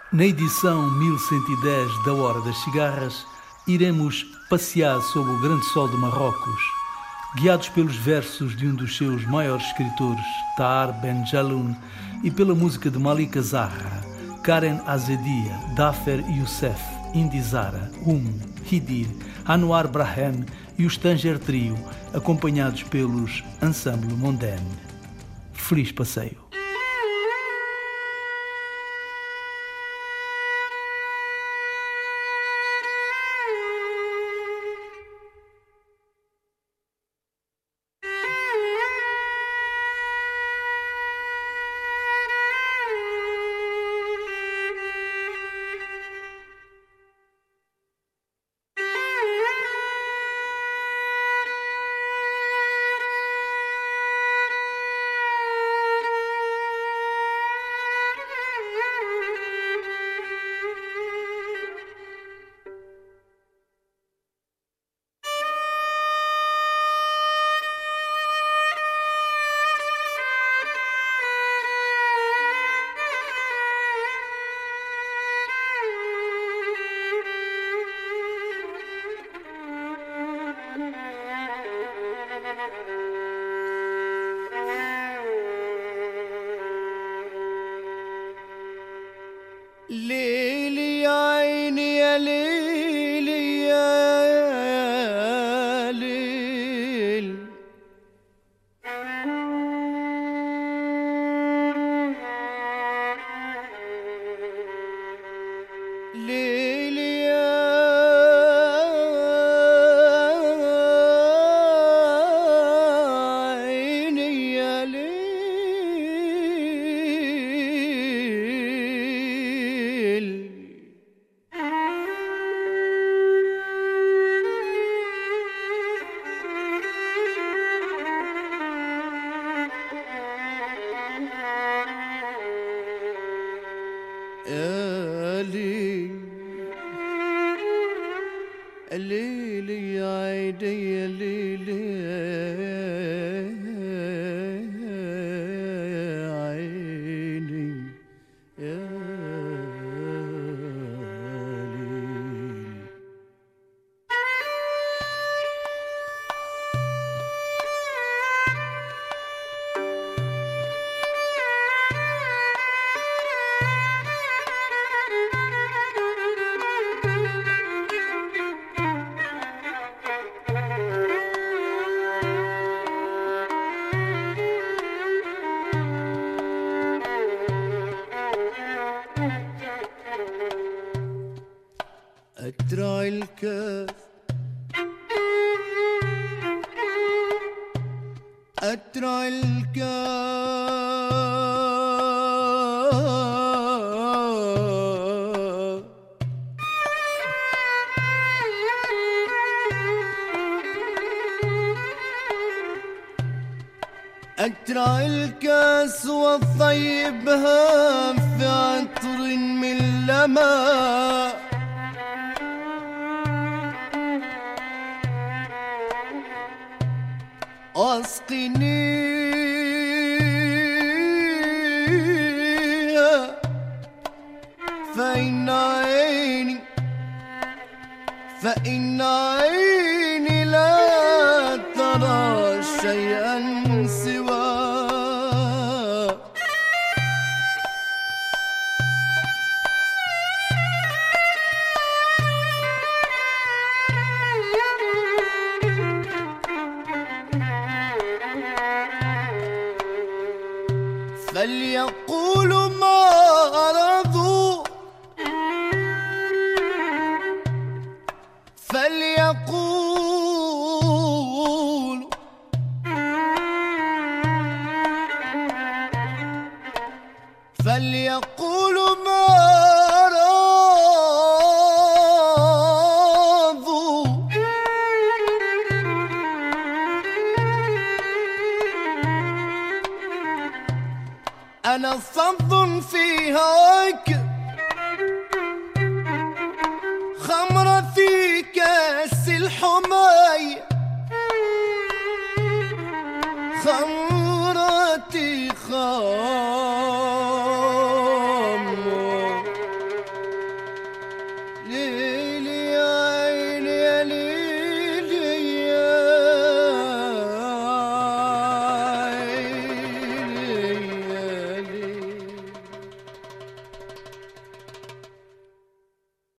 Na edição 1110 da Hora das Cigarras, iremos passear sob o grande sol de Marrocos, guiados pelos versos de um dos seus maiores escritores, Tahar Ben Jelloun, e pela música de Malika Zahra, Karen Azedia, Dafer Youssef, Indizara, Hidir, Anwar Brahem e o Tanger Trio, acompanhados pelos Ensemble Mondaine. Feliz passeio! ليلي يا عيني يا ليلي يا ليل ليلي يا عيني يا ليل يا ليل الليل يا عيني يا ليل يا عيني يا ليل أترع الكاف أترع الكاف أترع الكاس وطيبها في عطر من لماء أسقنيها فإن عيني لا ترى شيئا سواه فليقولوا ما أرادوا فليقولوا فليقولوا ما أرادوا أنا فظ في هواك خمرة في كاس الحماي خمرتي خمرة